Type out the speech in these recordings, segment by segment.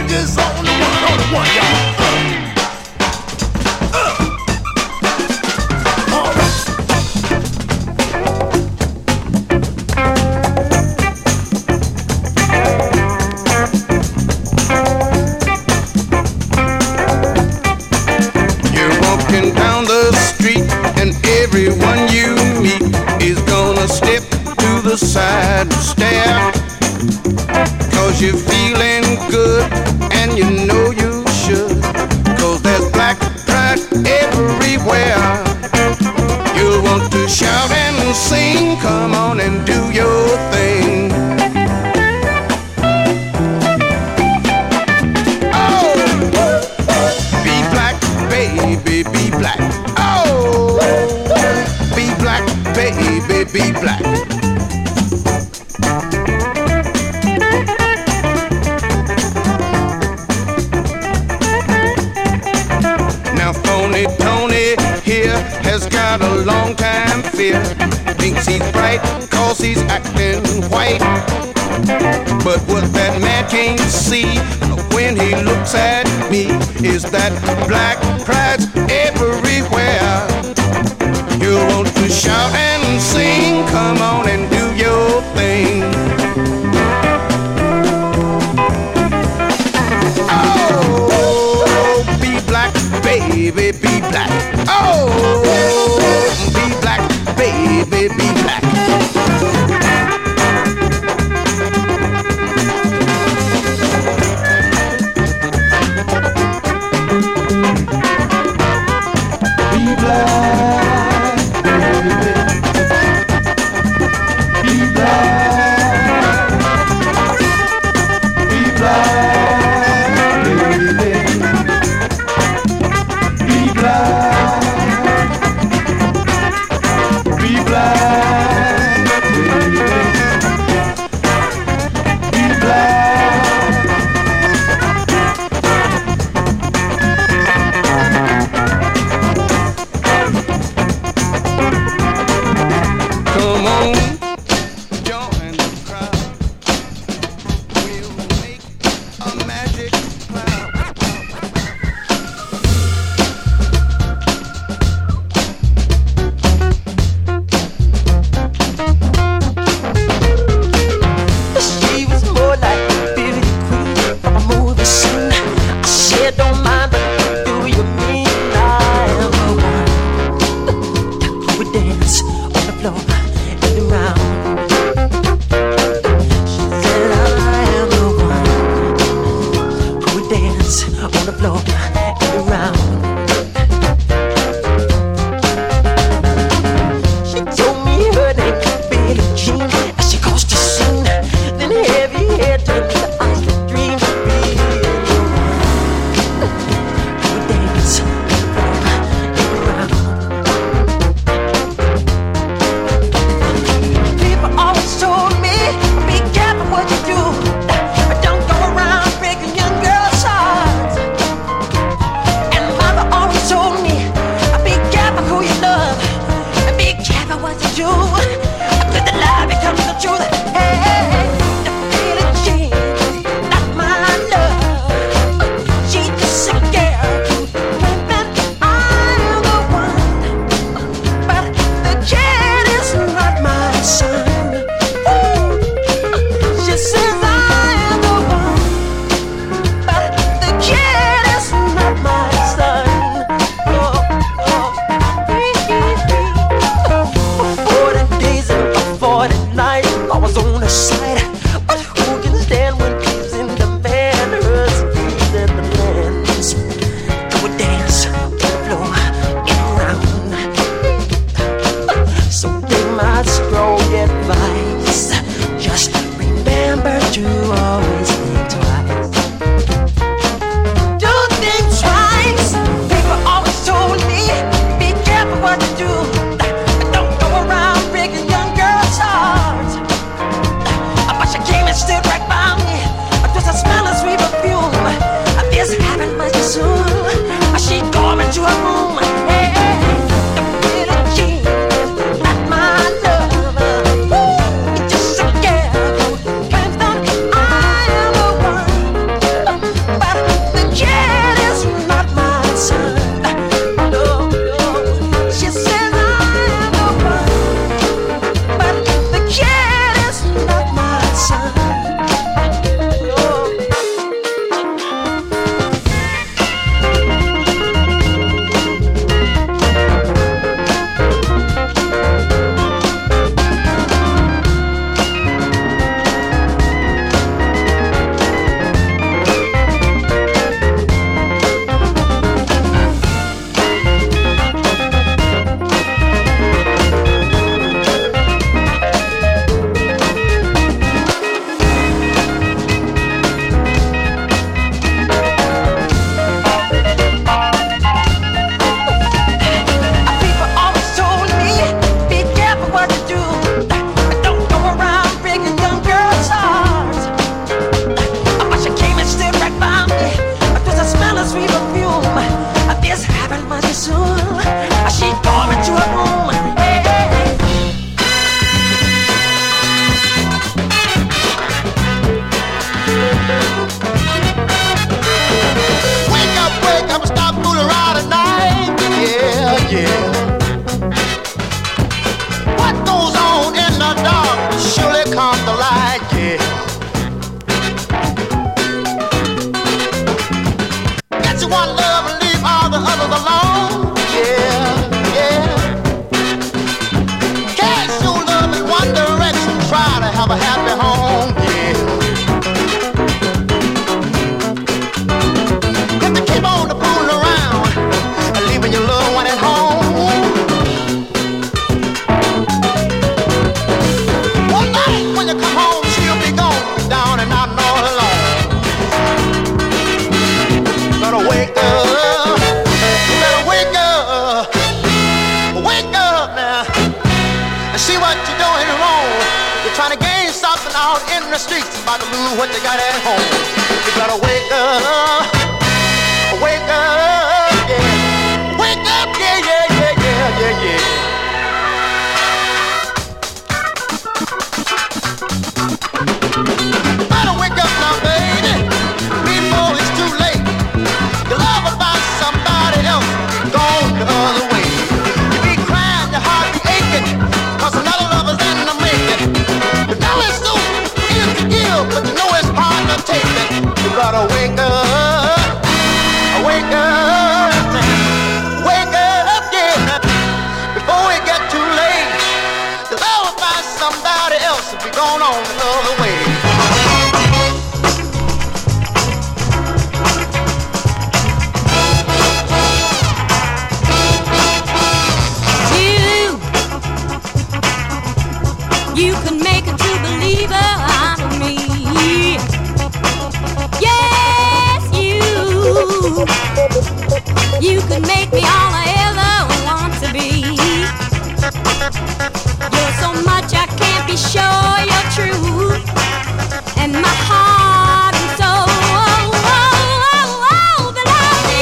fingers on the one, y'all. All right. You're walking down the street and everyone you meet is gonna step to the side and stare. 'Cause you're feeling good and you know you should. 'Cause there's black pride everywhere. You'll want to shout and sing, come on and do your thing. Oh, be black, baby, be black. Oh, be black, baby, be black. Tony here has got a long time fear. Thinks he's bright 'cause he's acting white. But what that man can't see when he looks at me is that black pride's everywhere. You'll want to shout and sing, come on and do your thing. Oh, be black, baby, be black. Oh, be black, baby, be black. Be black, baby. Be black. Be black, baby. Be black. Be black, baby. Be black. Come on, join the crowd. We'll make a magic cloud. She was more like a beauty queen from a movie scene. I said, don't mind, but do you mean I am the one who would dance on the floor and around? She said, I am the one who would dance on the floor and around. She told me her name was Billie Jean as she crossed the scene. Then heavy hair turned to ice that dream of being the one who would dance on the floor and around. People always told me, be careful what you do, but don't go around breaking young girls' hearts. And mother always told me, be careful who you love, and be careful what you do, because the lie becomes the truth. Hey, the Billie Jean, not my love. She just a girl who claimed that I am the one, but the kid is not my son. She says I am the one, but the kid is not my son. For 40 days and for 40 nights, I was on the side. But who can stand when he's in the man? Hers he's in the lands. Go and dance on the floor and around. So take my strong advice. Just remember to always think twice. Do think twice. People always told me, be careful what you do. Don't go around breaking young girls' hearts. But she came and stood right by me. Just a smell of sweet perfume. This happened much too soon. She called me to her room. Hey, the Billie Jean is not my love. It's just a girl who claims that I am the one. lovers in the streets about to lose what they got at home. You gotta wake up, yeah. Wake up, yeah. Better wake up now, baby, before it's too late. Your love about somebody else, gone the other way. You be crying, your heart be aching, 'cause another lover's in the making. You know it's so easy to give, but you know it's hard to take it. You gotta wake up, yeah, before it get too late. Your love about somebody else will be gone on the other way. You can make a true believer out of me. Yes, you can make me all I ever want to be. You're so much I can't be sure you're true. And my heart and soul belong to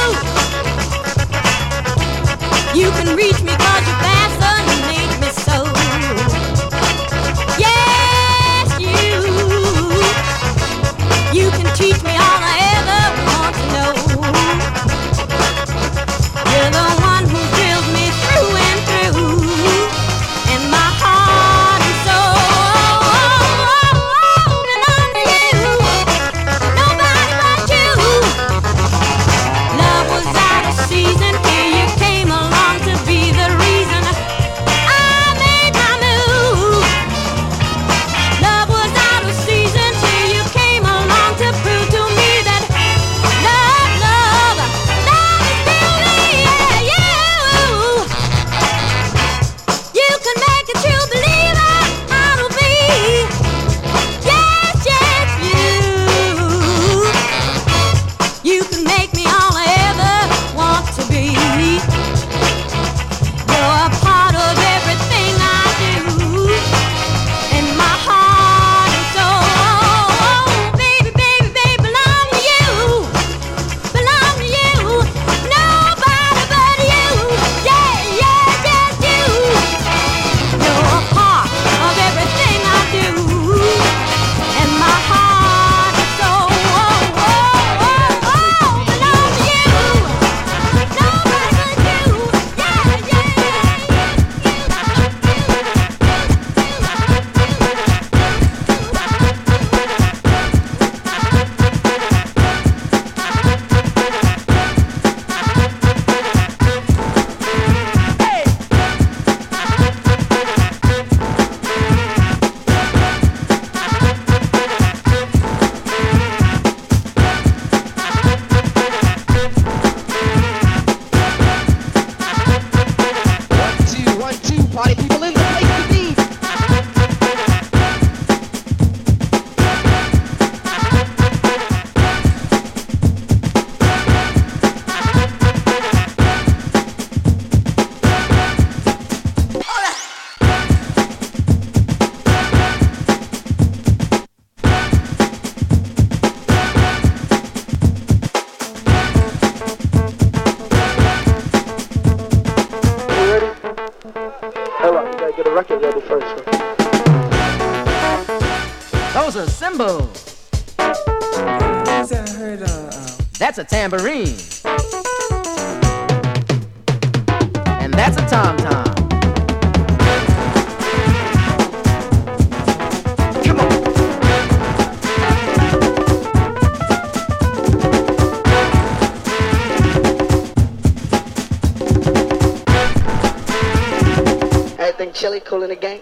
you. You can reach me 'cause you fascinate me so. You can teach me all I ever want to know. You're the one who thrills me through and through. And my heart and soul belong to you. Nobody but you. Love was out of season. Here you came along to be the reason I made my move. Love was out of season till you came along to prove to me that love is beauty. Yeah, you can make a true believer out of me. Yes, you can make me all I ever want to be. You're a part of everything I do. And my heart and soul, baby, belong to you. Belong to you. Nobody but you. Yeah, just you. You're a part of everything I do. And my heart and soul, belong to you. Nobody but you. One, two, party people in the place to be. Those are cymbals. That's a tambourine. And that's a tom-tom. Come on. Everything chilly, cool in the gang.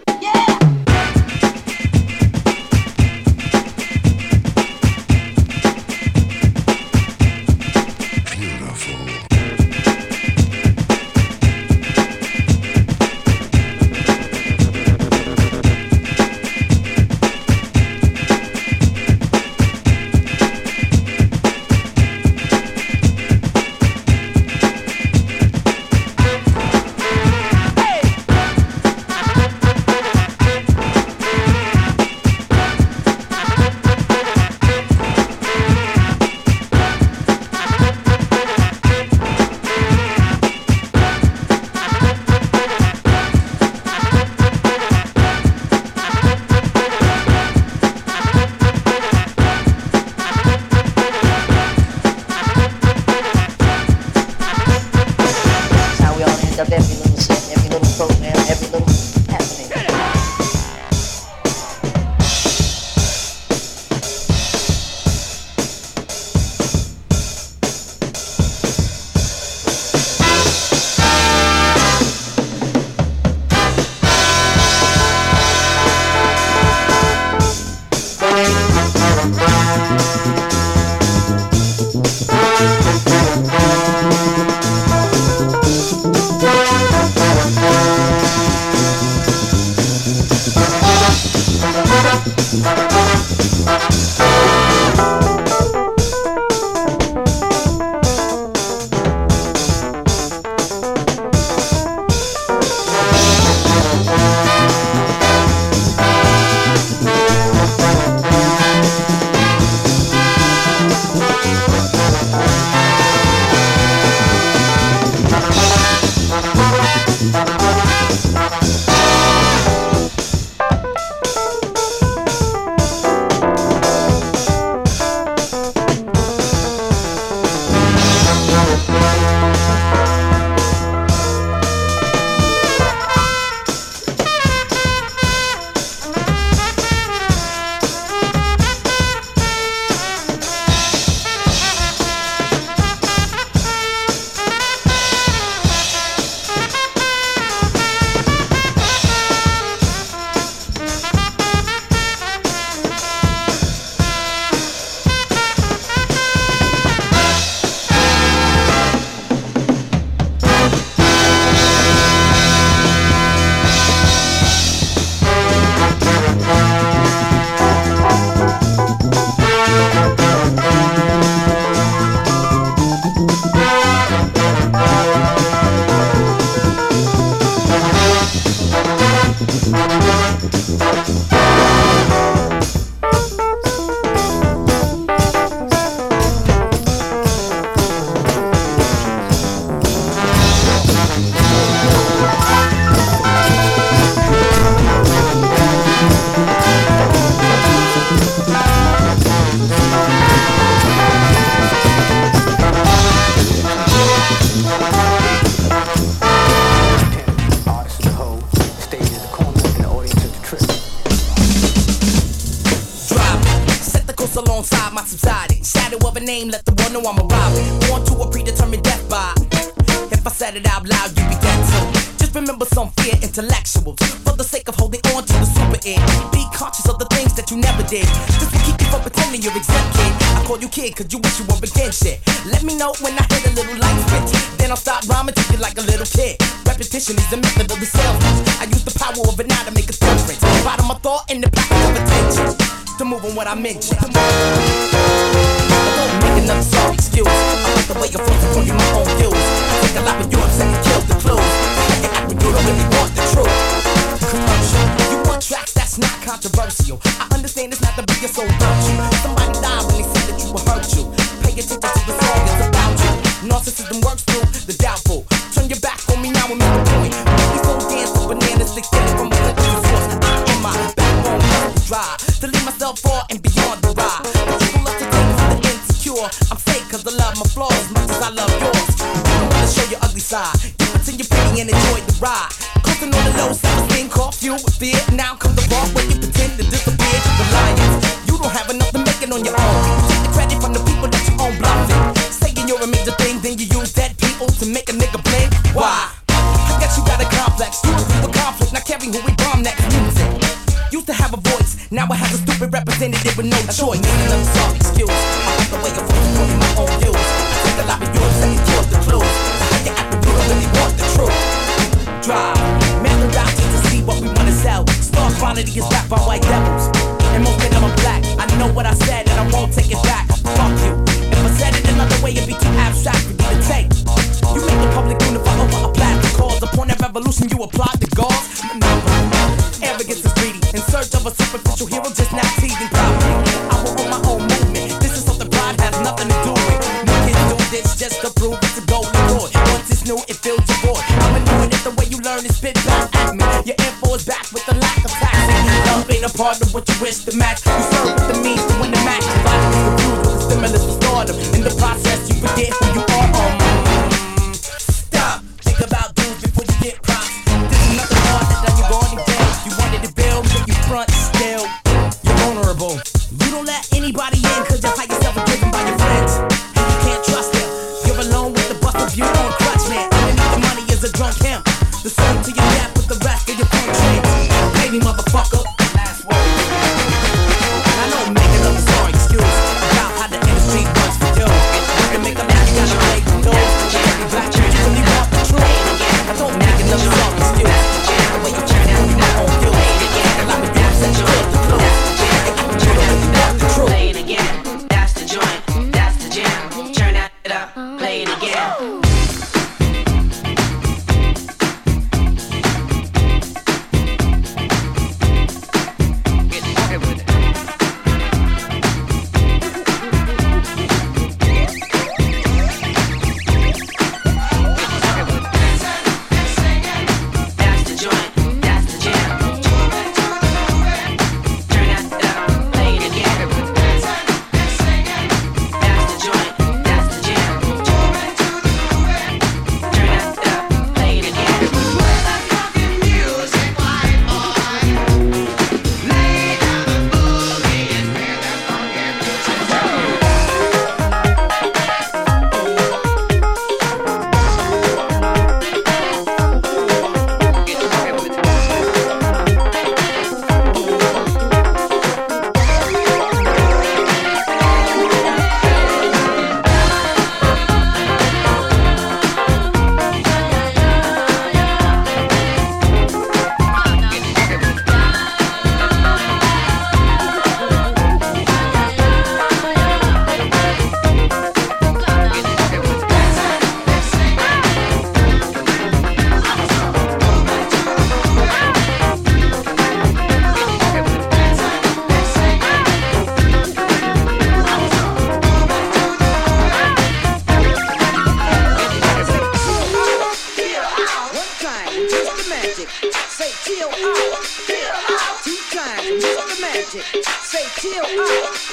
Name, let the world know I'm arriving. Born to a predetermined death by. If I said it out loud, you be dead too. Just remember some fear intellectuals. For the sake of holding on to the super it. Be conscious of the things that you never did. This will keep you from pretending you're exempt, kid. I call you kid cause you wish you were again shit. Let me know when I hit a little light switch. Then I'll start rhyming to you like a little kid. Repetition is the method of the salesman. I use the power of it now to make a difference. Bottom of thought in the package of attention. To move on what I mentioned. Don't make another sorry excuse. I like the way you're forced to call you my own views. I take a lot of you upset and kill the clues. You act when you don't really want the truth. Commercial. You want tracks that's not controversial. I understand it's not the biggest soul virtue. Somebody died when they said that you will hurt you. Pay attention to the song, it's about you. Narcissism works through the doubtful. Turn your back on me now and make a point. Make me so dance to bananas, they steal it from a country source. I am my backbone, dry. To leave myself far and beyond the ride. The people love to take for the insecure. I'm fake cause I love my flaws as much as I love yours. You don't wanna show your ugly side. You pretend you're pretty and enjoy the ride. Cooking on the low, self-esteem, caught fuel with fear. Now comes the part where you pretend to disappear. The lions, you don't have enough to make it on your own. Take the credit from the people that you own bluffing. Saying you're a major thing, then you use dead people to make a nigga blink. Why? I guess you got a complex. You a conflict, not caring who we bomb next. Music used to have a voice, now I have a stupid representative with no choice. Another soft excuse. I like the way you're forced to call me my own views. I take a lot of yours and kill the clues. How you act when you don't really want the truth. Drive, measure out just to see what we wanna sell. Star quality is rap by white devils. And most of them are black. I know what I said and I won't take it back. Fuck you. If I said it another way, it'd be too abstract for you to take. You make the public unify over a plastic cause. Upon that revolution, you applaud the gods. Arrogance is greedy. In search of a superficial hero, just not teasing property. I will own my own movement. This is something pride has nothing to do with. No kids do this just to prove it's a golden boy. Once it's new, it fills your void. I'ma do it the way you learn and spit back at me. Your info is back with the lack of taxing. Love ain't a part of what you wish to match. You serve with the means to win the match. Your body is confused with the stimulus for stardom. In the process, you forget who you are. Stop. Think about dudes before you get props. This is nothing hard that you're going to get. You wanted to build, but you front still. You're vulnerable. You don't let anybody in cause you hide yourself and driven by your friends. And you can't trust them. You're alone with the bust of you on crutch, man. Underneath the money is a drunk him. The song to your death with the rest of your country. Pay me, motherfucker. Last word. And I know I'm making up a sorry excuse.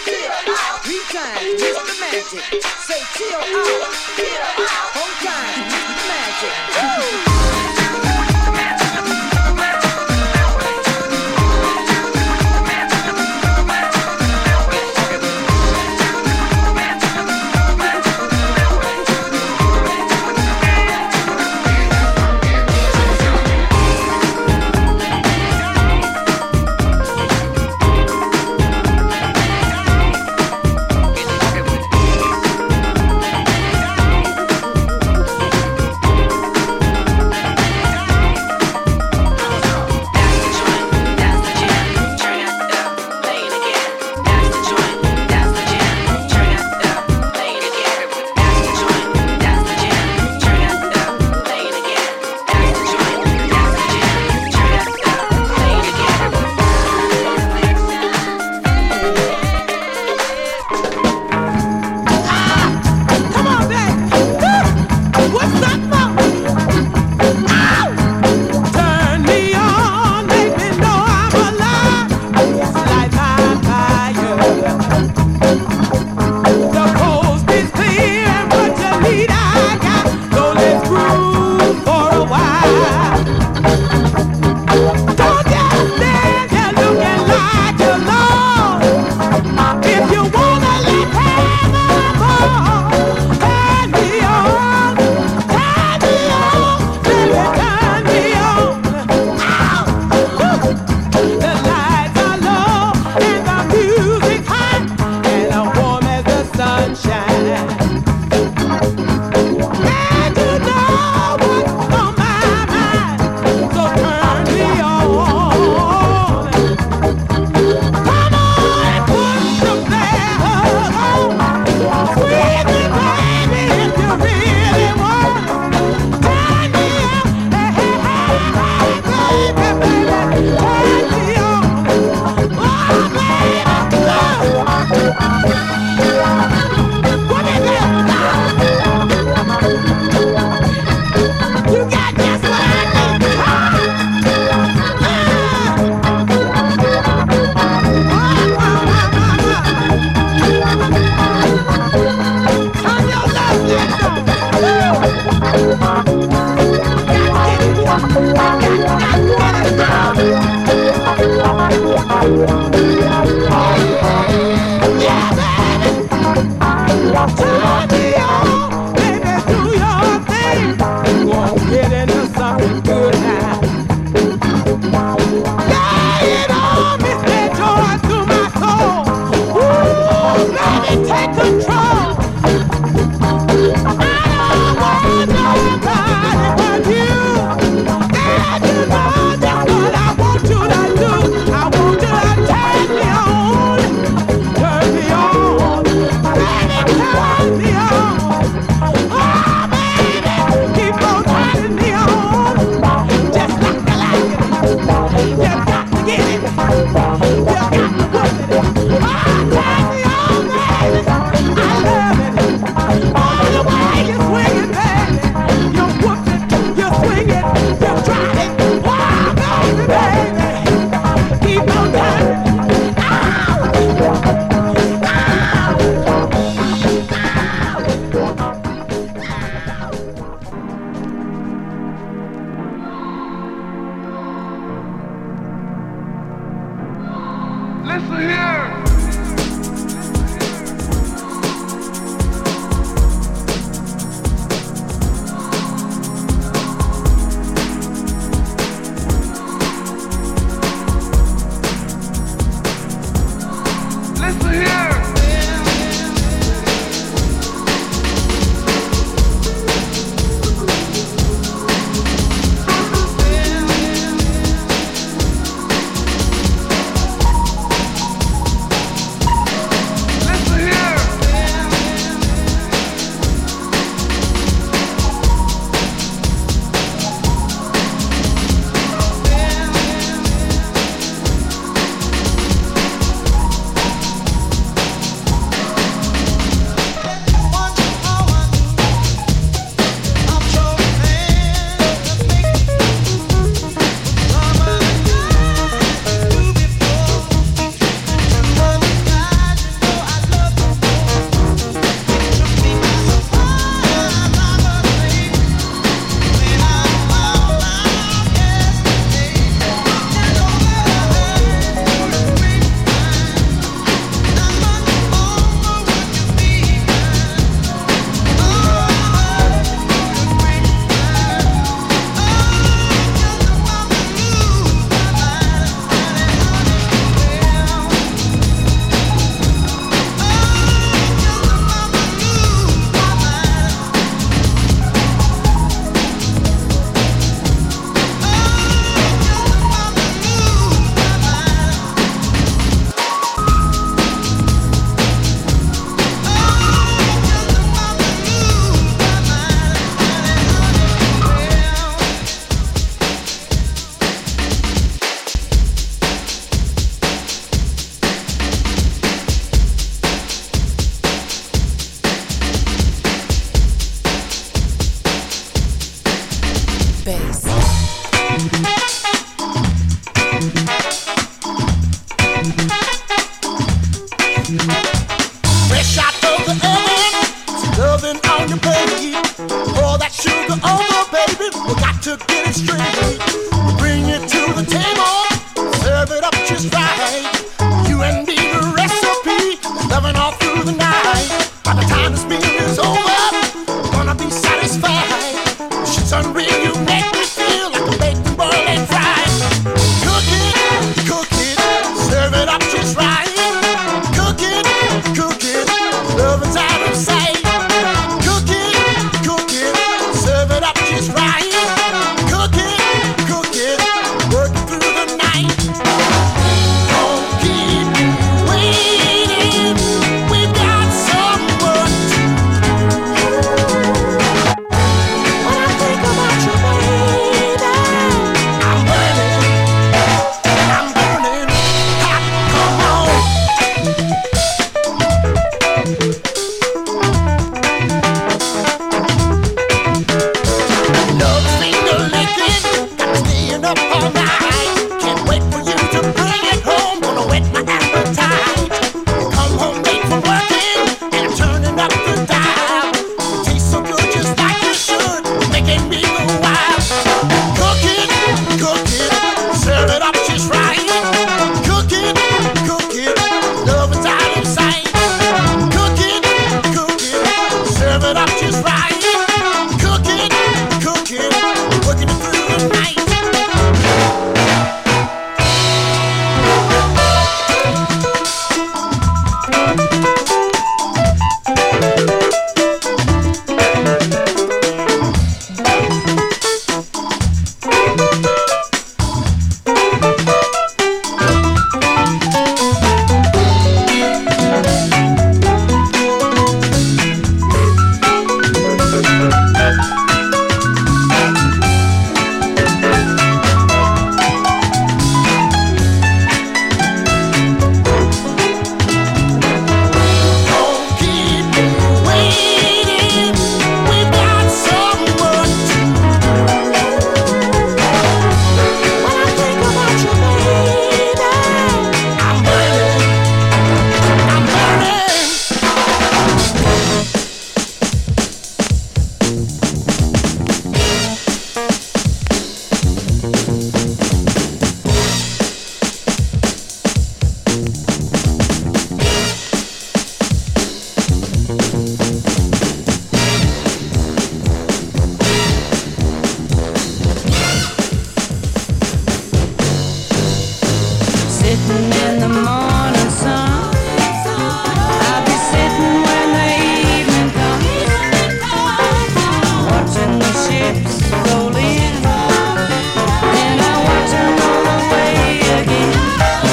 Three times, Mr. Magic. Say chill out. Four times, Mr. Magic. Yeah, baby! fresh out of the oven. It's loving on your plate. Pour that sugar over, baby. We got to get it straight. We bring it to the table, serve it up just right. You and me, the recipe, loving all through the night. By the time this meal is over, we're gonna be satisfied. Shit's unreal, you make me feel like a baked boiled and fried. Cook it, serve it up just right. Cook it, love is out of sight. Cook it, serve it up just right. Cook it, working through the night. Don't keep me waiting, we've got some work to do. When I think about you, baby, I'm burning hot, come on. Love finger licking, got me staying up all night. Can't wait for you to bring it home, gonna whet my appetite. You come home late from working, and I'm turning up the dial. You taste so good just like you should, making me go wild. Cook it, serve it up just right. Cook it, love is out of sight. Cook it, serve it up just right. Cook it, working it through the night. Don't keep me waiting, we've got some work to do. When I think about you, baby, I'm burning. Sitting in the morning sun, I'll be sitting when the evening comes, watching the ships roll in, and I watch them roll away again.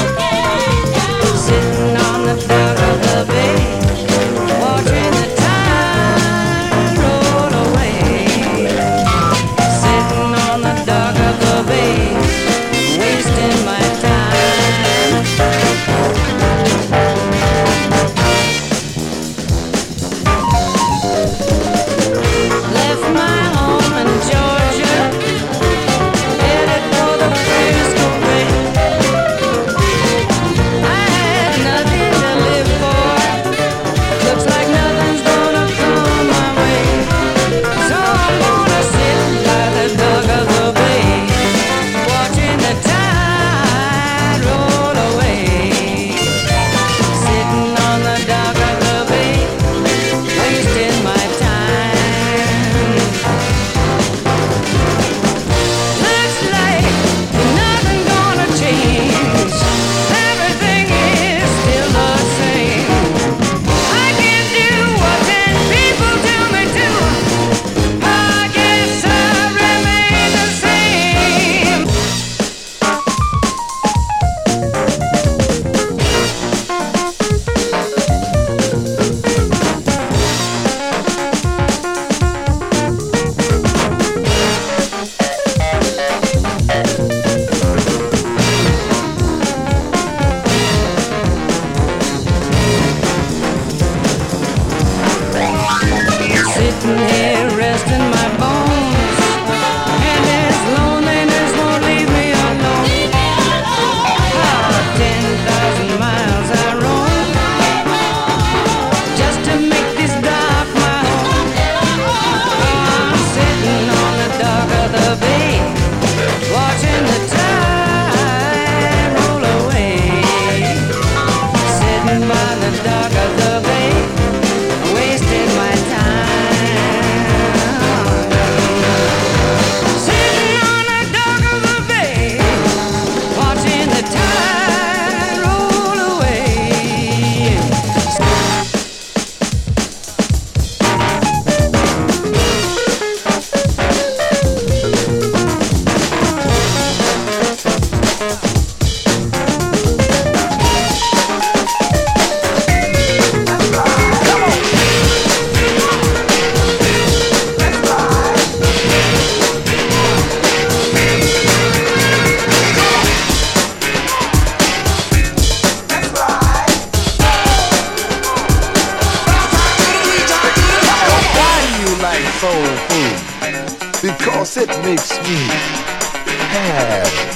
Sitting on the dock of the bay, watching the tide roll away. Sitting on the dock of the bay, wasting my time. Left my home in Georgia, headed for the Frisco Bay. I had nothing to live for, looks like nothing's gonna come my way. So I'm gonna sit by the dock of the bay, watching the tide roll away. Sitting on the dock of the bay, wasting my time. Looks like nothing gonna change. Everything is still the same. I can do what 10 people tell me to. I guess I remain the same. Sitting here resting my bones, and this loneliness won't leave me alone. 10,000 miles I roam, soul food because it makes me happy.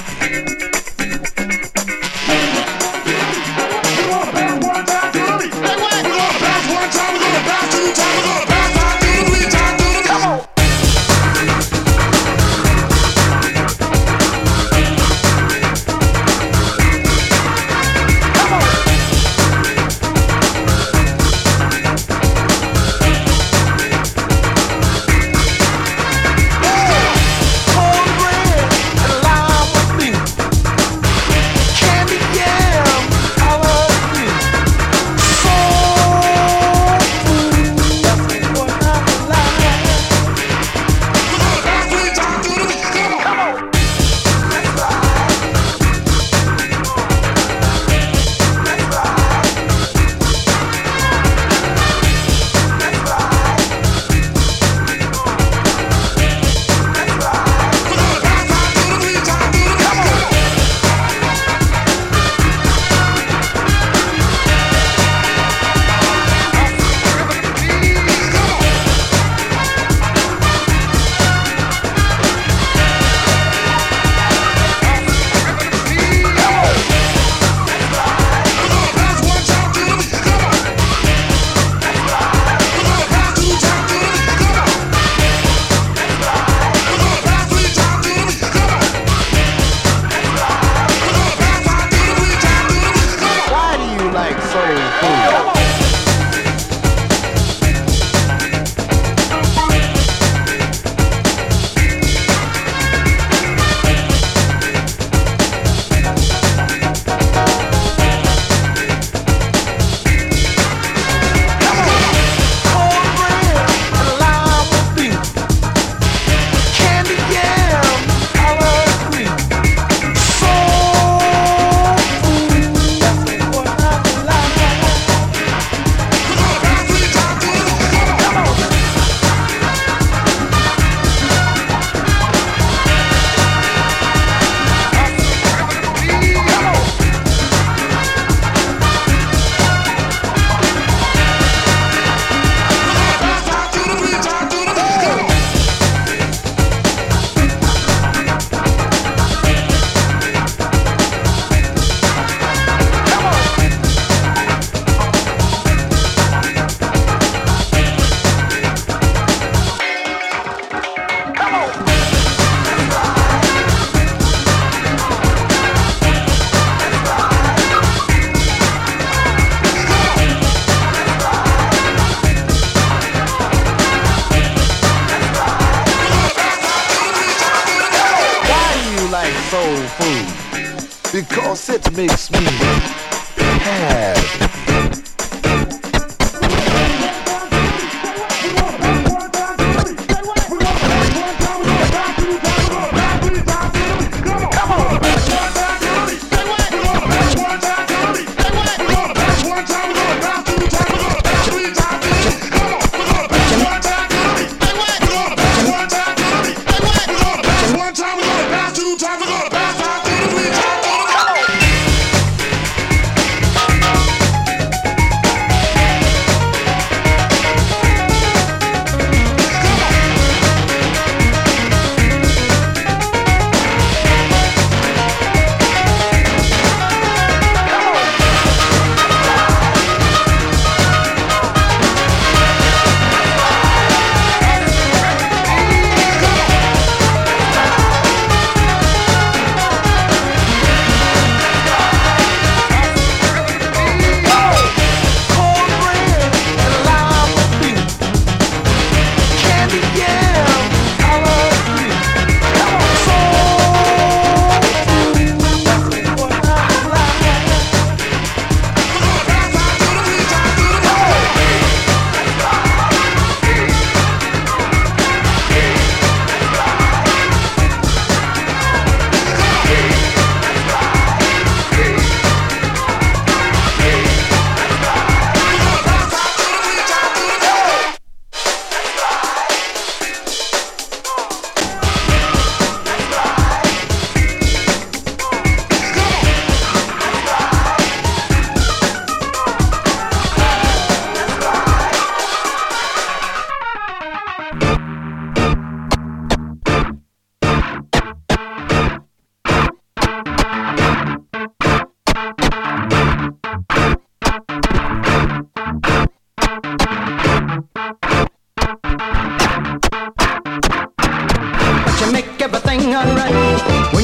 Because it makes me happy.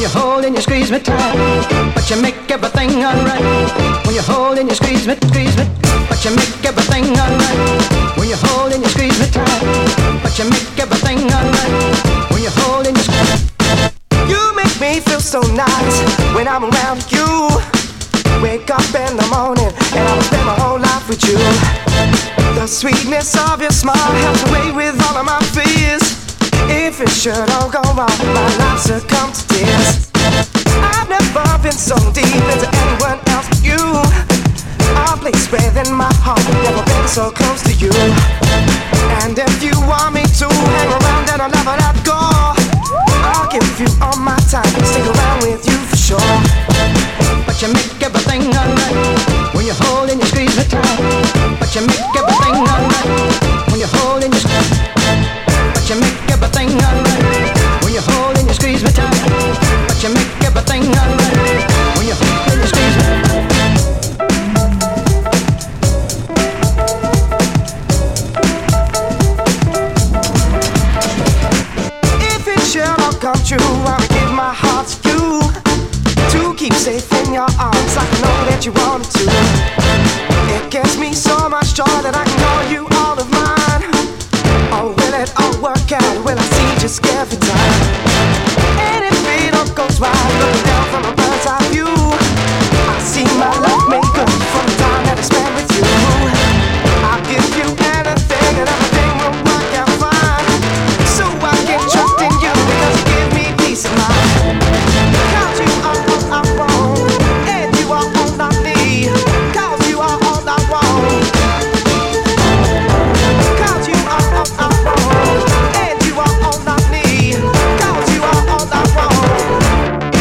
When you hold and you squeeze me tight, but you make everything alright. When you hold and you squeeze me, but you make everything alright. When you hold and you squeeze me tight, but you make everything alright. When you hold and you squeeze. You make me feel so nice when I'm around you. Wake up in the morning and I will spend my whole life with you. The sweetness of your smile helps away with all of my fears. If it should all go wrong, my life succumbs to tears. I've never been so deep into anyone else but you. A place within my heart, never been so close to you. And if you want me to hang around, then I'll never let go. I'll give you all my time, stick around with you for sure. But you make everything alright when you hold and you squeeze me tight. But you make everything alright when you hold and you squeeze. But you make everything alright when you hold and you squeeze me tight. But you make everything alright when you hold and you squeeze me. If it shall all come true, I'll give my heart to you. To keep safe in your arms like I know that you wanted to. It gives me so much joy that I can call you all of mine. Oh, will it all work out? Will I see just every time? And if it all goes right, looking down from a bird's eye view, I see my love make up from the time that I spent with you. I'll give you anything and everything will work out fine. So I can trust in you because you give me peace of mind. Cause you are all I want, and you are all I need. Cause you are all I want. Cause you are all I want, and you are all I need. Cause you are all I want.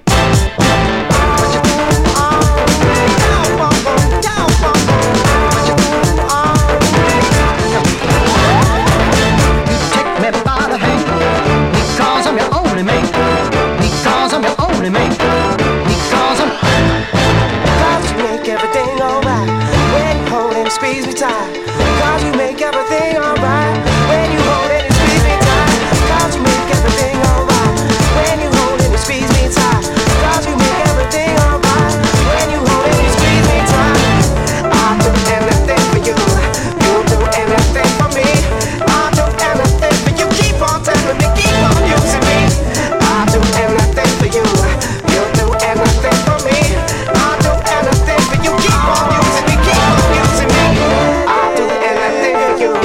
You take me by the hand because I'm your only mate. Because I'm your only mate. Because I'm. Cause you make everything alright when you hold and squeeze me tight. Cause you make everything alright when you hold and squeeze me tight. Cause you make everything alright when you hold and squeeze me tight. Cause you make everything alright when you hold and squeeze me tight. I'll do anything for you. You do anything for me. I'll do anything for you. Keep on telling me, keep on using me. I'll do anything for you. You do anything for me. I'll do anything for you. Keep on using me, keep on using me. I'll do anything for you.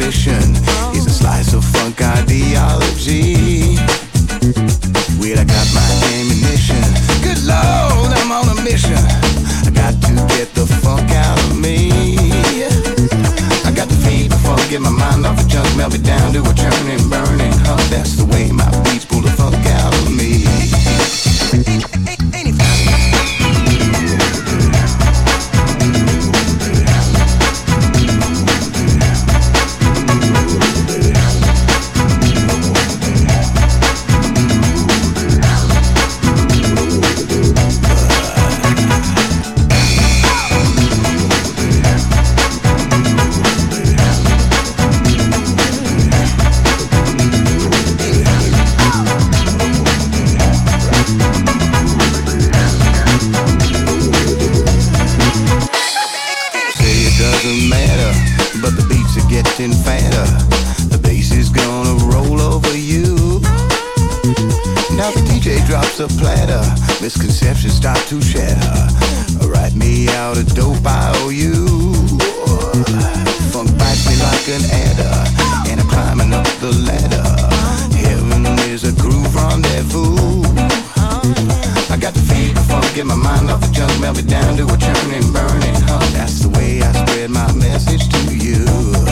ambition is a slice of funk ideology. Well, I got my ammunition. Good Lord, I'm on a mission. I got to get the funk out of me. I got to feed the funk, get my mind off the junk, melt it down to a churning, burning hunk. That's the way my beats pull the funk out of me. Fatter, the bass is gonna roll over you. Now the DJ drops a platter, misconceptions start to shatter. Write me out a dope IOU. Funk bites me like an adder, and I'm climbing up the ladder. Heaven is a groove rendezvous. I got to feed the funk, get my mind off the junk, melt it down to a churning, burning hunk. That's the way I spread my message to you.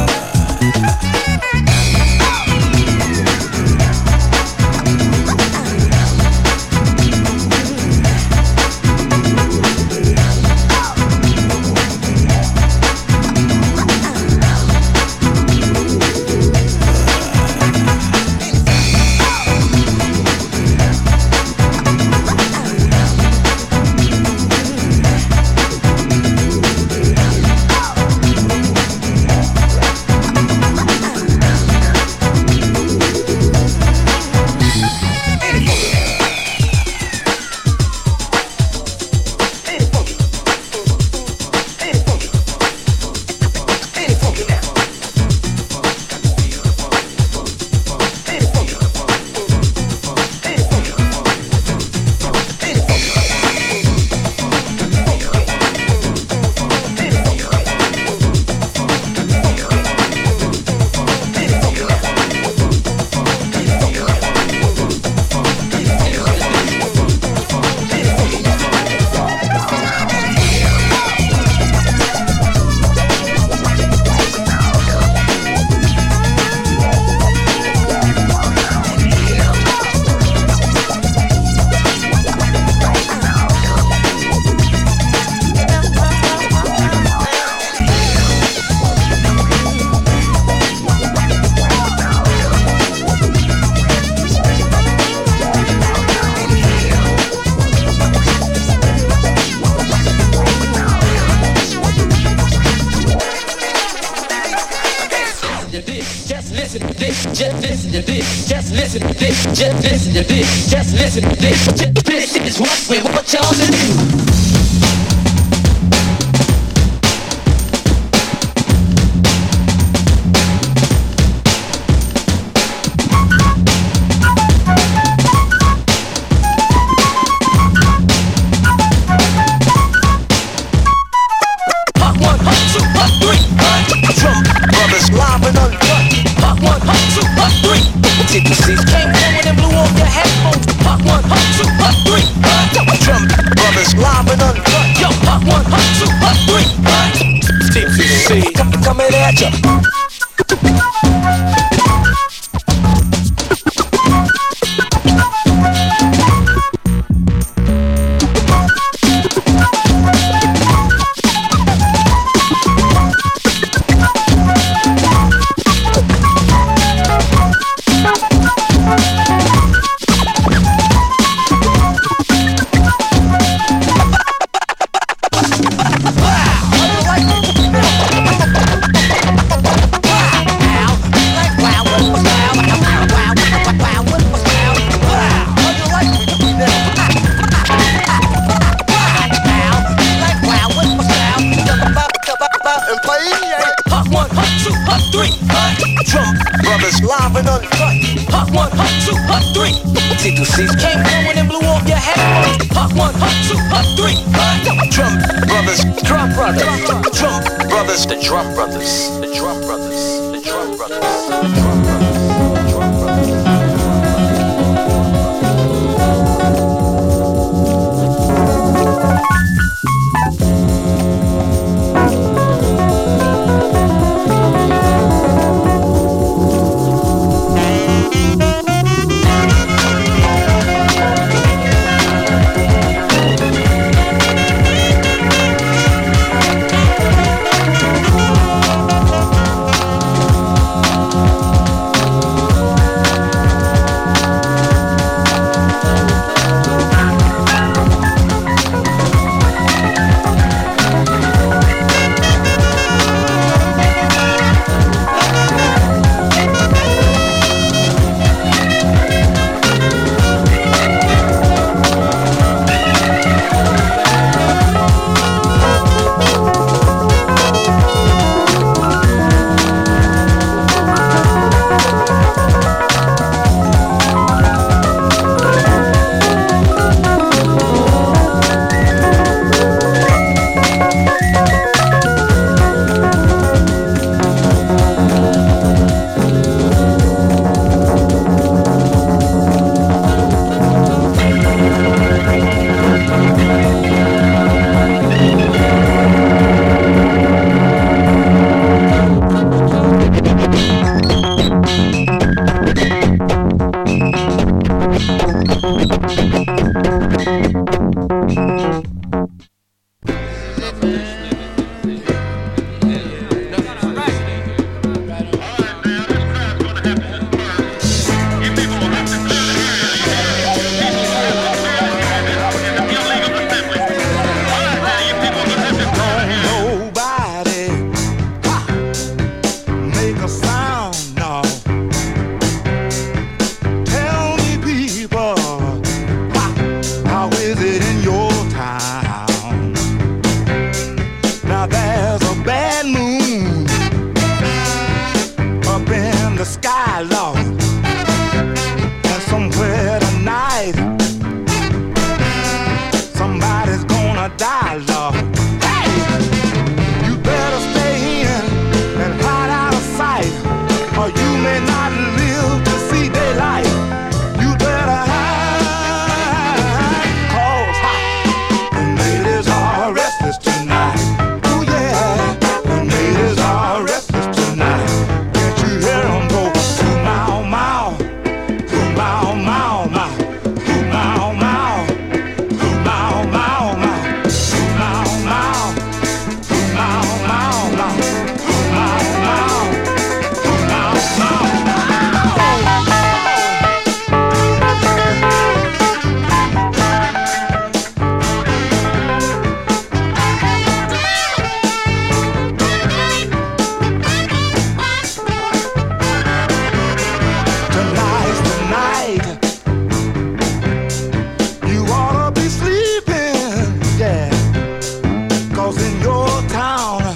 Just listen to this. This is what y'all to do. Coming at ya. live and uncut. Hot 1, hot 2, hot 3. T2C's came through and blew off your head. Hot 1, hot 2, hot 3. Drum brothers, drum brothers, drum brothers. brothers, the drum brothers, the drum brothers, the drum brothers, the drum brothers, the drum brothers. Cause in your town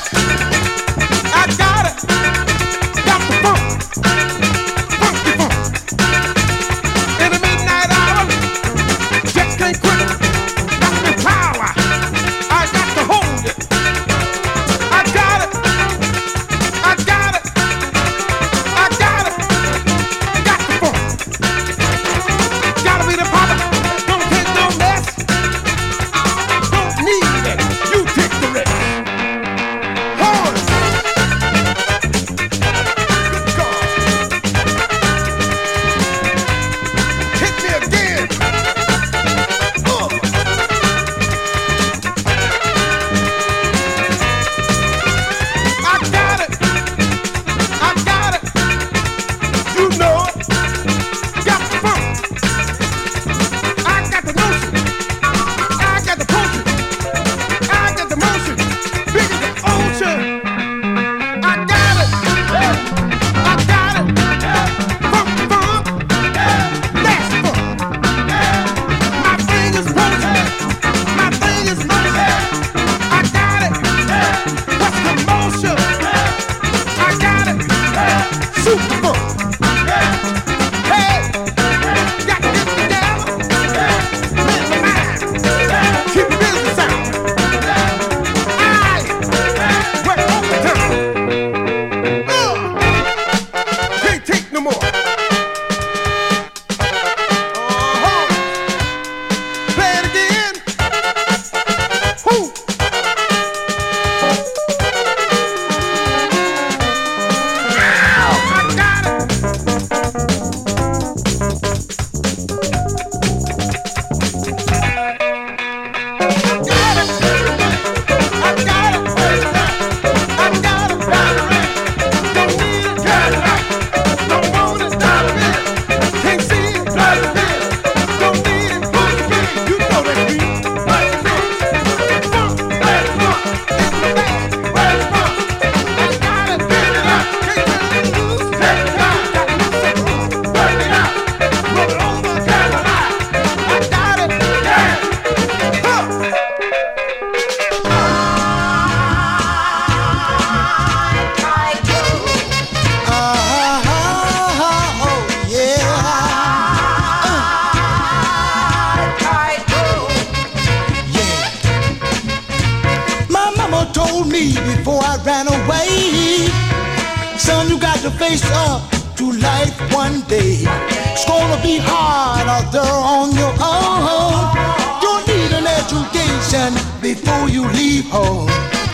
face up to life one day. It's gonna be hard out there on your own. You need an education before you leave home.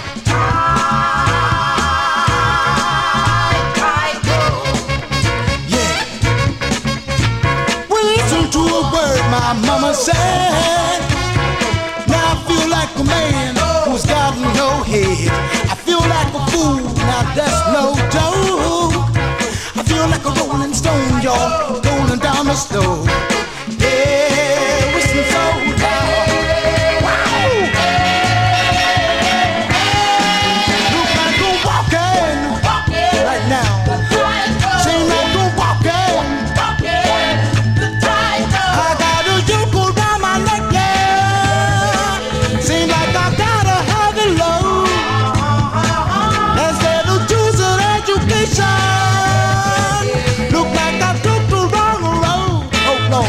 Yeah. Well, listen to a word my mama said. Now I feel like a man who's got no head. I feel like a fool, now that's no joke. I feel like a rolling stone, y'all, rolling down the slope. Yeah, whistling so loud. Wow! Look like I'm walking right now. Seem like I'm walking. I got a yoke around my neck, yeah. Seem like I got a heavy load. Instead of choosing education, look like I took the wrong road. Oh Lord.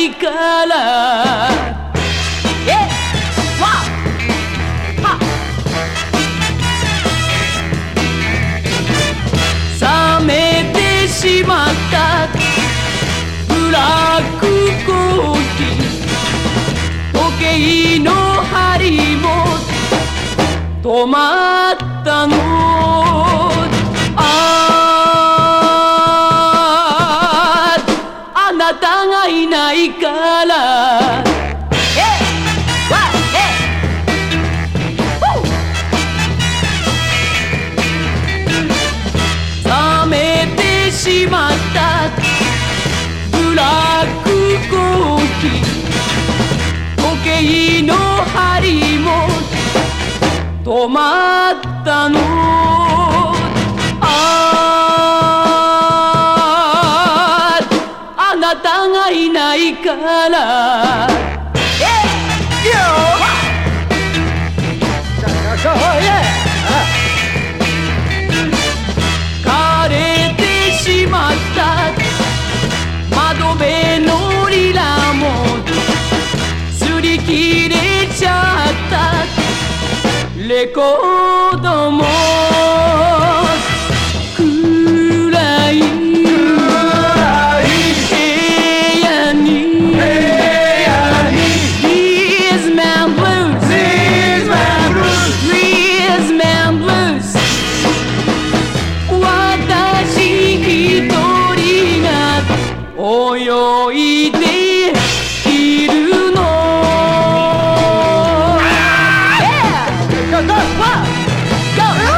ないから冷めてしまったブラックコーヒー時計の針も止まったのあなたがいないから冷めてしまったブラックコーヒー時計の針も止まったのあなたがいないから枯れてしまった窓辺のリラも擦り切れちゃったレコードも暗い部屋に These man blues These man blues 私一人が泳いでいるのGo, go, go!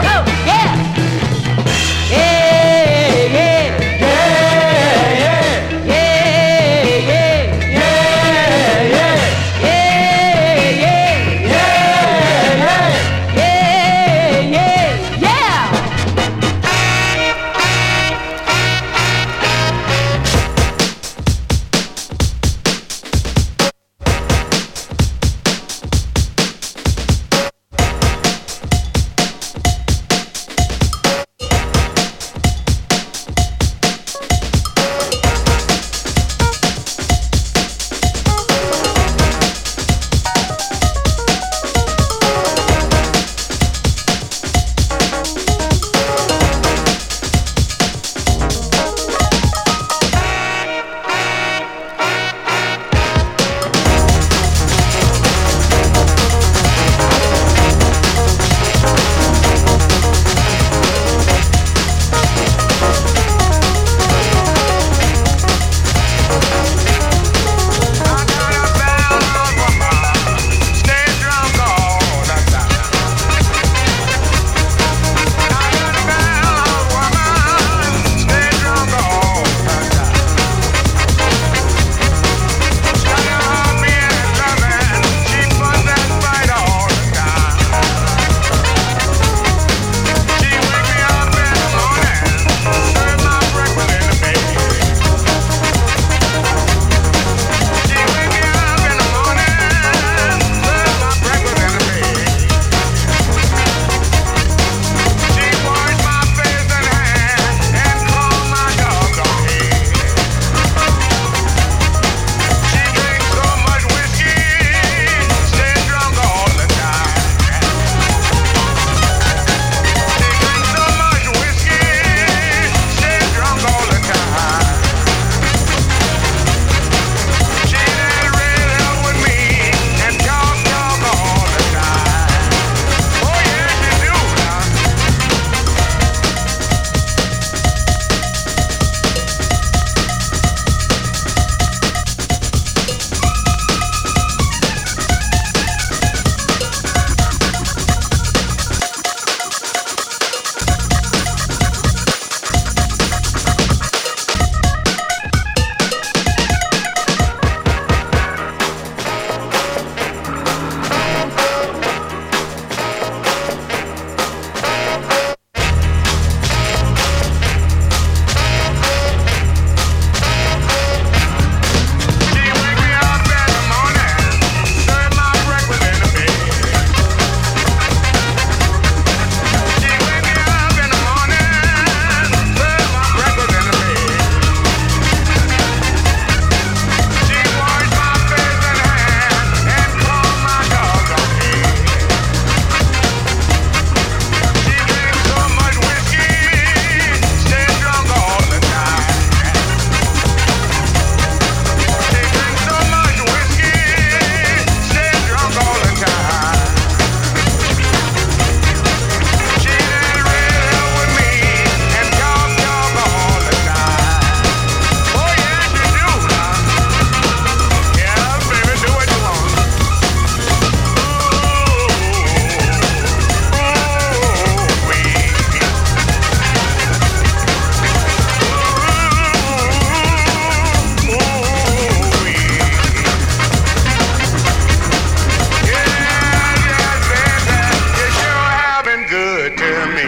it to me.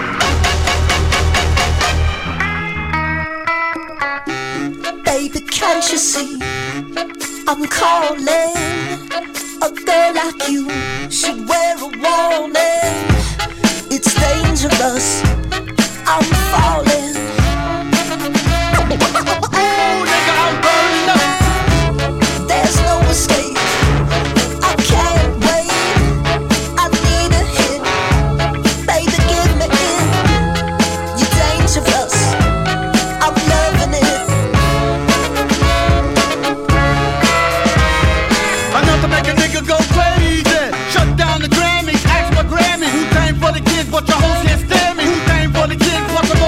Baby, can't you see I'm calling? A girl like you should wear a warning. It's dangerous, I'm falling. Oh, nigga, I'm burning up. There's no escape, I can't wait. I need a hit, baby, give me it. You're dangerous, I'm loving it. Enough to make a nigga go crazy. Shut down the Grammys, ask for Grammy. Who came for the kids, but your hoes can't stand me. Who came for the kids, but the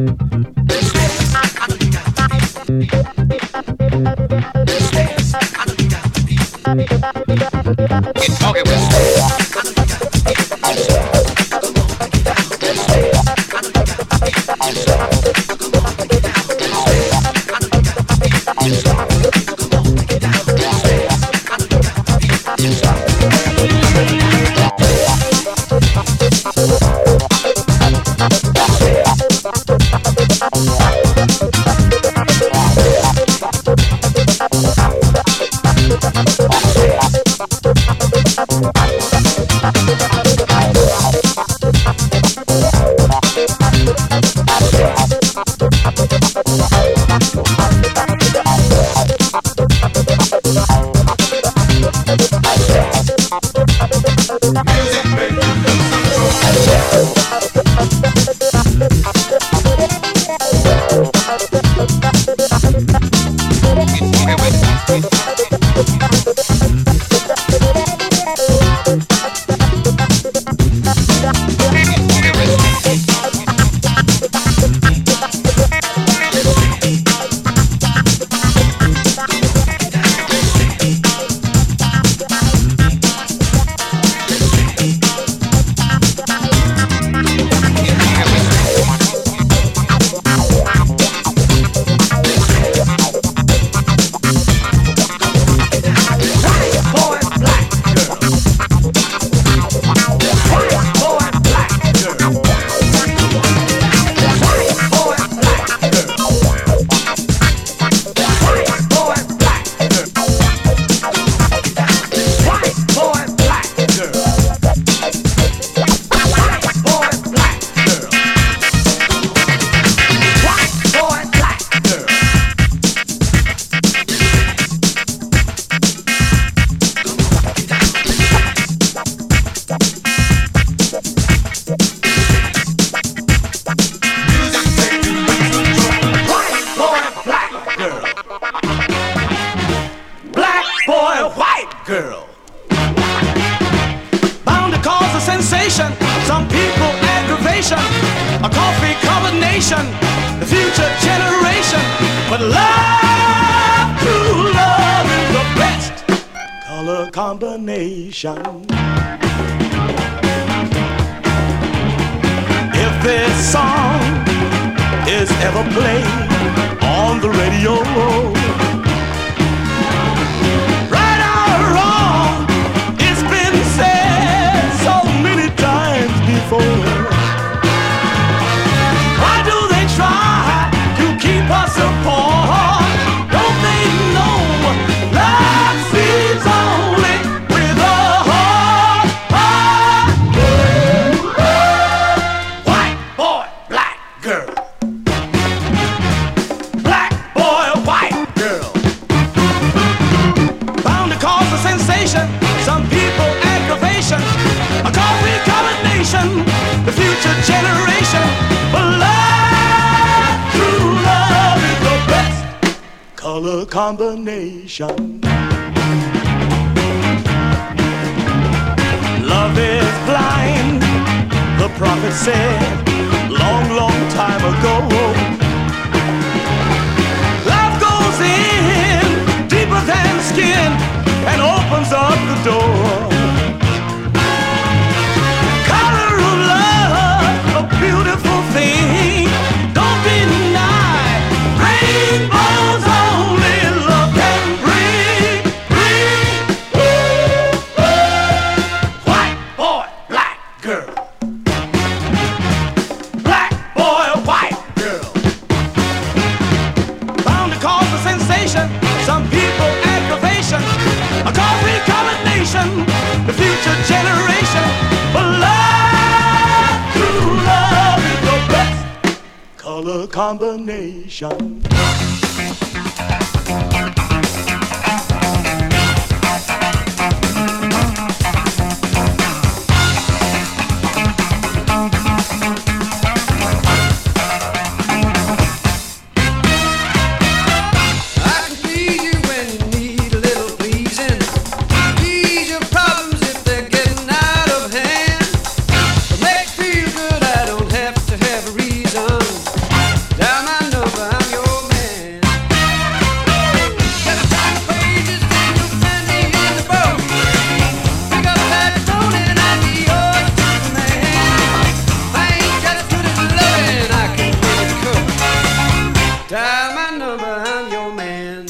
If this song is ever played on the radio, right or wrong, it's been said so many times before. Why do they try to keep us apart? Don't they know love sees only with a heart? White boy, black girl. Black boy, white girl. Bound to cause a sensation, some people aggravation, a coffee combination, the future generation. But love, true love is the best color combination. Love is blind, the prophet said long, long time ago. Love goes in deeper than skin and opens up the door. Color of love, a beautiful thing. Don't deny rainbows only love can bring. White boy, black girl. Black boy, white girl. Bound to cause a sensation, some people aggravation, a coffee combination, the future generation. But love, true love is the best color combination. I can please you when you need a little pleasing. Ease your problems if they're getting out of hand. To make you feel good, I don't have to have a reason. Dial my number, I'm your man.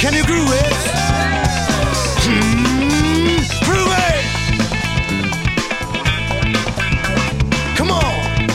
Can you groove it? Groove it! Come on!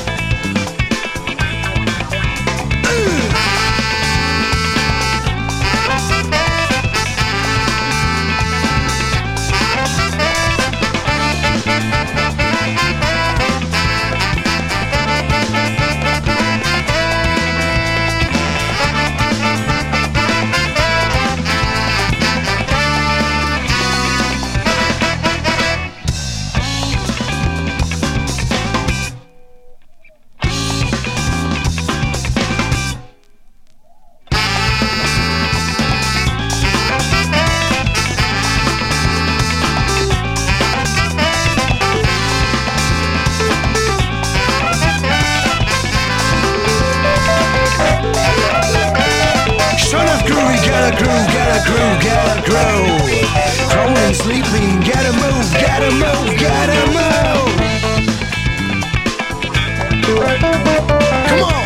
Gotta grow. Crawling, sleeping, gotta move, gotta move, gotta move. Come on.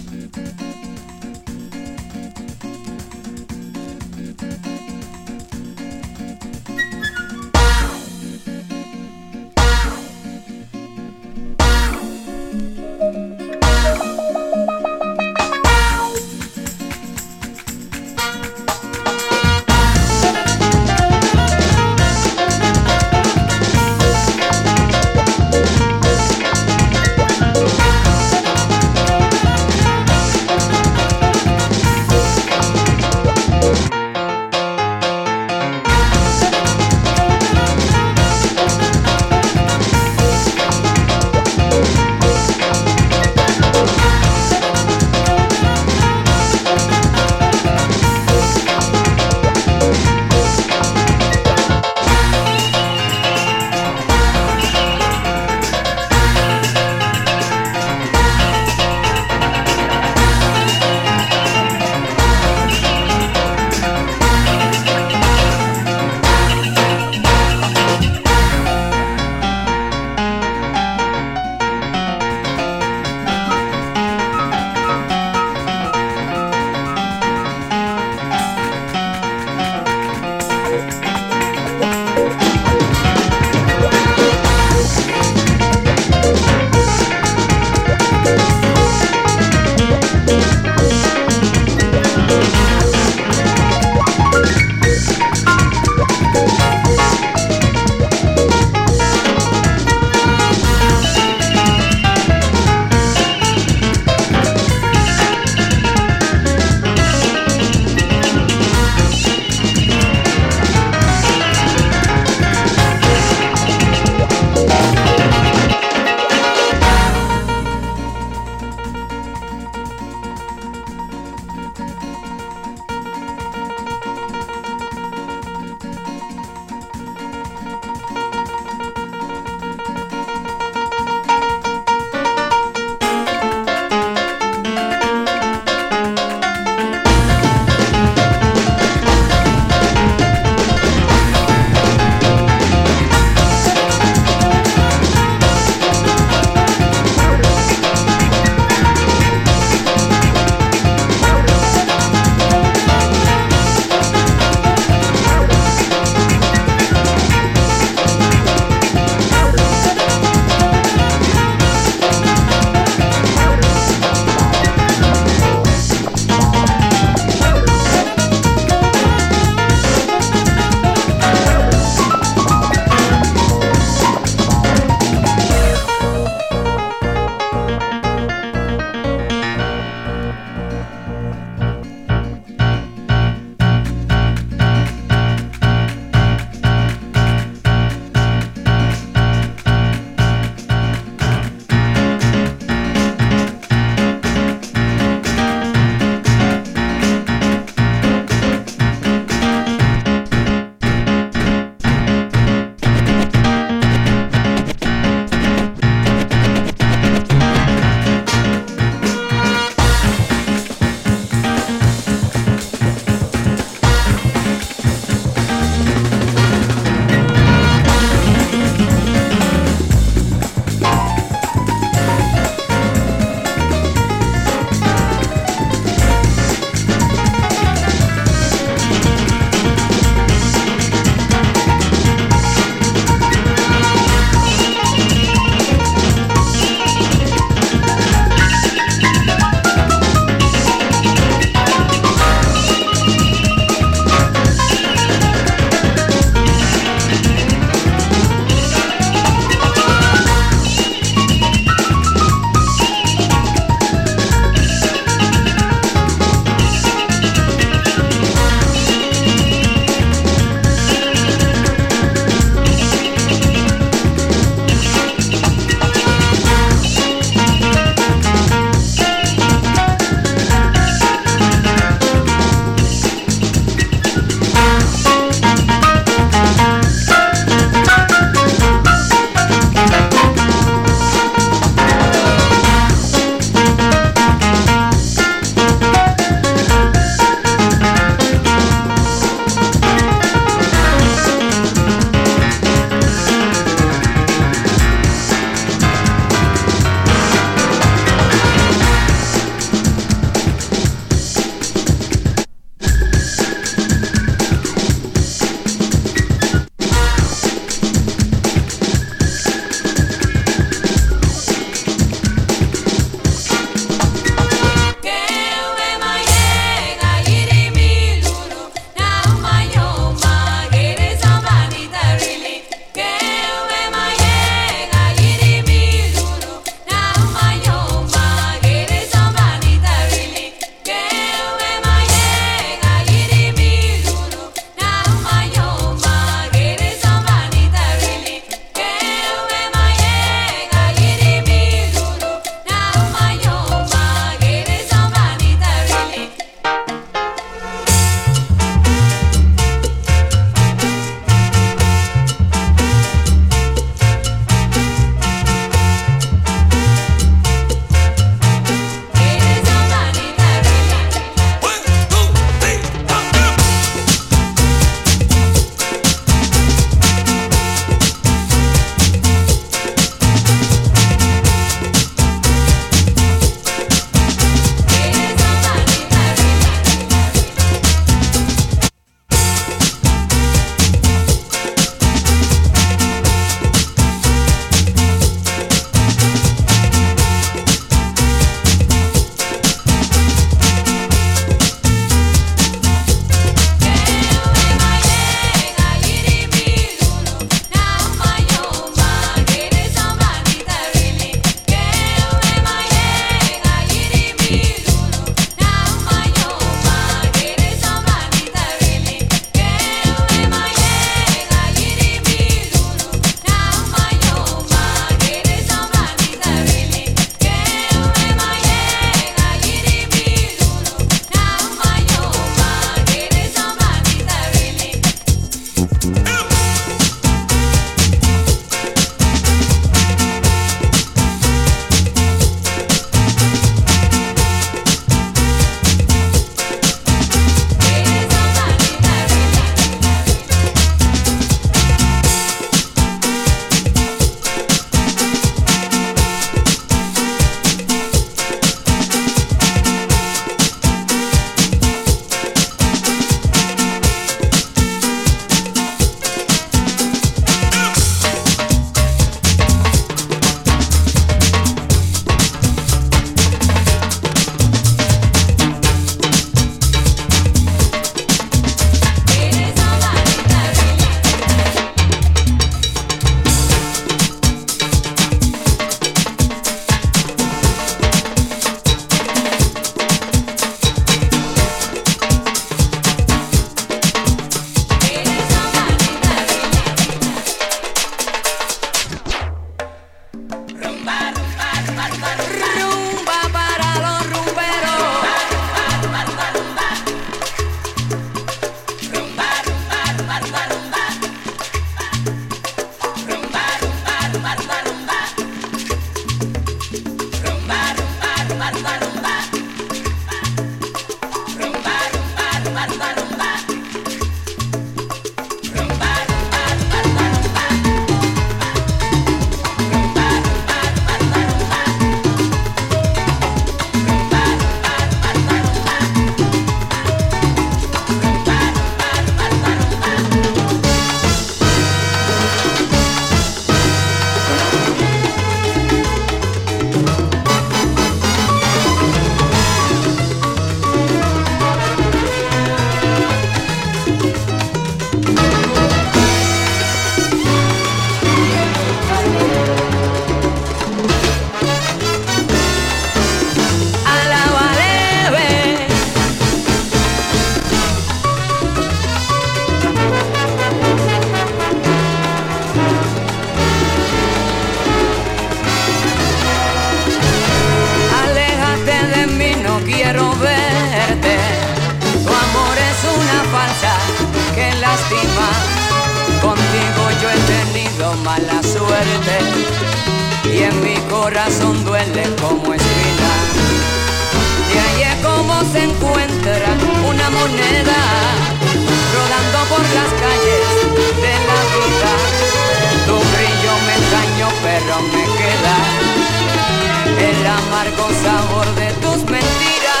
lástima. Contigo yo he tenido mala suerte y en mi corazón duele como espina. Y ahí es como se encuentra una moneda rodando por las calles de la vida. Tu brillo me engañó pero me queda el amargo sabor de tus mentiras.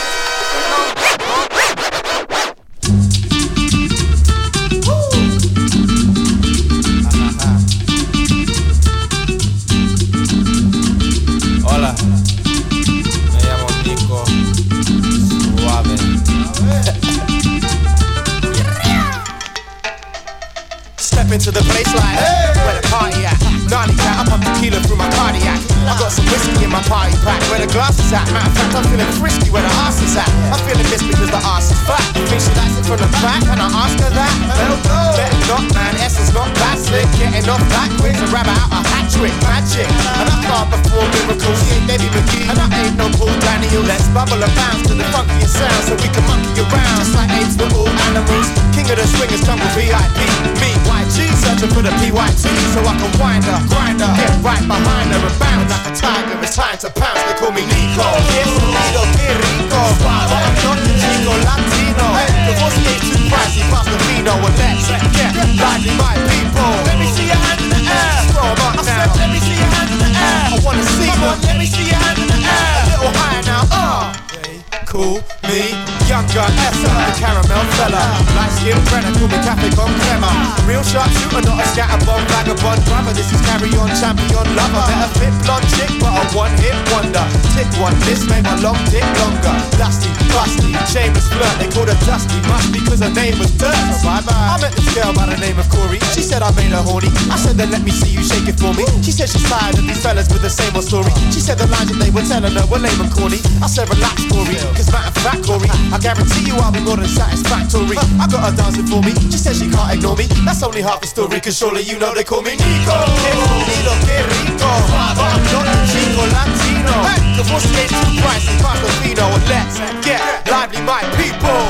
Hola, me llamo Nico Suave. Step into the place like, hey, where the party at? Gnarly cat, I pump tequila through my cardiac. I got some whiskey in my party pack. Where the glass is at? Matter of fact, I'm feeling frisky where the arse is at. I'm feeling this because the arse is fat. Think she likes it from the back, and I ask her that. Hell no, better not, man. Essence not that slick. Getting off that quick to rabbit out a hat trick, magic. And I can't perform miracles. She ain't Debbie McGee, and I ain't no Paul Daniel. Let's bubble and bounce to the funkiest sound so we can monkey around. Just like apes, we're all animals. King of the swingers, jungle VIP. Me, YG, searching for the PYT so I can wind her, grind her, get right behind her and bound like a tiger. It's time to pounce. They call me Nico. Yes, Nico, que rico. But I'm not the Chico Latino. The voice ain't too pricey, pass the vino and let's get lively, my people. Let me see your hand in the air. Throw 'em up now. Let me see your hand in the air. I wanna see you. Let me see your hand in the air. A little higher now. Cool me, younger Essa, the caramel fella. Light skin Brenner, call me Cafe Con Crema. Real sharp shooter, not a scatterbomb, vagabond brother. This is carry on, champion lover. Better fit blonde chick, but a one-hit wonder. Tick one, this made my long dick longer. Dusty, busty, shameless flirt. They called her Dusty, must be cause her name was Dirt. So bye-bye. I met this girl by the name of Corey. She said I made her horny. I said then let me see you shake it for me. She said she's tired of these fellas with the same old story. She said the lines that they were telling her were lame and corny. I said relax, Corey. Matter of fact, Corey, I guarantee you I'll be more than satisfactory. I got her dancing for me, she said she can't ignore me. That's only half the story, cause surely you know they call me Nico. Nico, que rico. But I'm not a Chico Latino. The voice ain't too pricey, pass the vino and let's get lively, my people.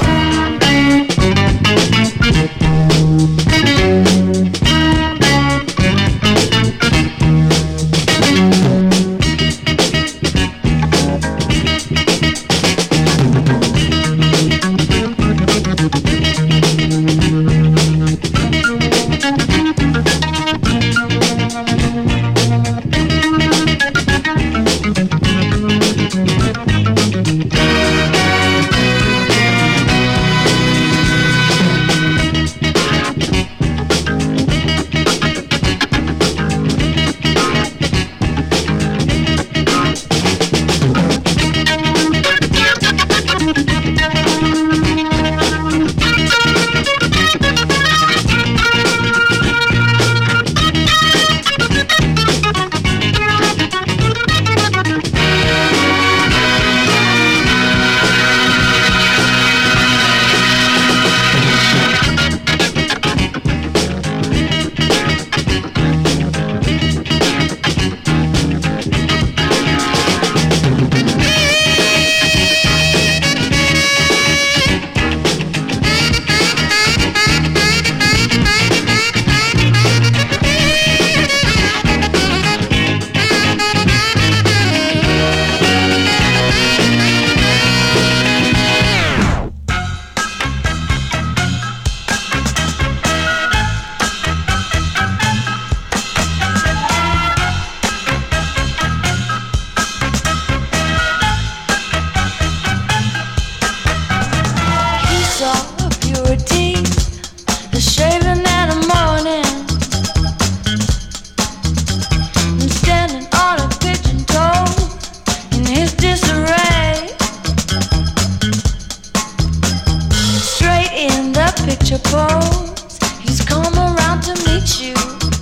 pose. He's come around to meet you,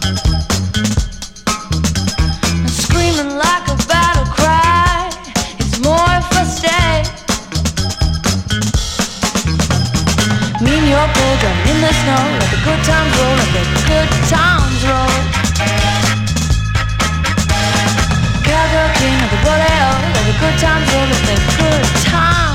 screaming like a battle cry. It's more if I stay. Me and your program in the snow, let the good times roll, let the good times roll. Cowgirl king of the rodeo, let the good times roll, let the good times.